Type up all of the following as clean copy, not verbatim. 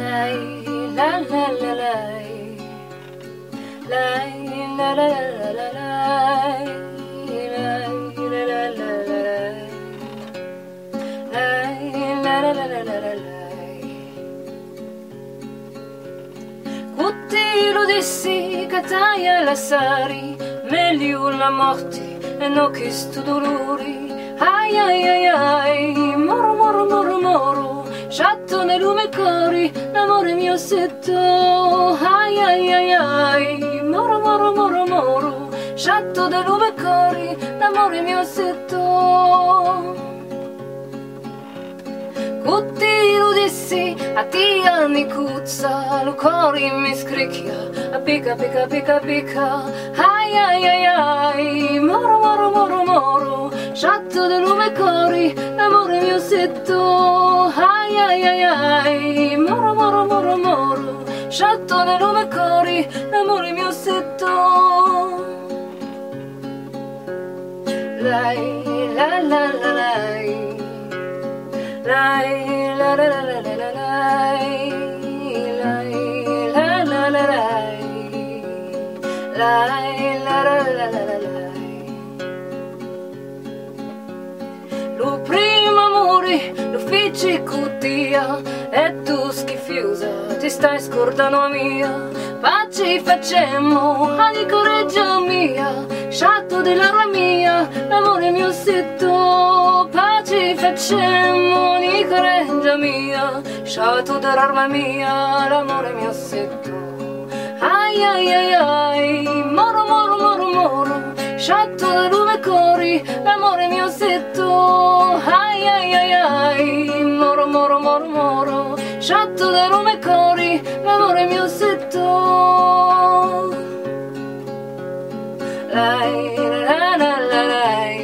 Lei, la la la lei, lei, la la la la lei, lei, la la la la lei, la la la la lei. Cuttilo dissi che taia la sari, meglio la morte e no che sto dolori. Ai ai ai ai, moro moro moro moro, sciatto nel lume cori, l'amore mio setto. Ai ai ai ai, moro moro moro moro, sciatto nel lume cori, l'amore mio setto. Cutti lo dissi, a ti anni cuzza, lo cori mi scricchia, a pica pica pica pica. Ai ai ai ai, moro moro moro moro, sciatto del lume cori, l'amore mio setto. Ai ai ai ai, moro moro moro moro, sciatto del lume cori, l'amore mio setto. Lei, la la la lei, lei, la la la la la lei, lei, la la la lei, lei, la la la la lei. Lo primo amore lo feci cuttia e tu schifiosa ti stai scordando mia. Pace facemmo, ani coraggio mia, sciatto dell'arma mia, l'amore mio setto. Pace facemmo, ani coraggio mia, sciatto dell'arma mia, l'amore mio setto. Ai ai ai ai, moro moro moro moro, sciatto del lume cori, l'amore mio setto. Ai ai ai ai, moro moro moro moro, sciatto del lume cori, l'amore mio setto. Lei, la la la lei,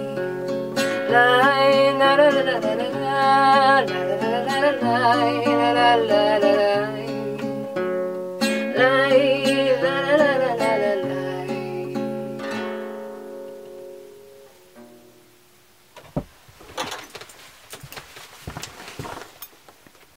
lei, la la la la la la la la la la la la la la.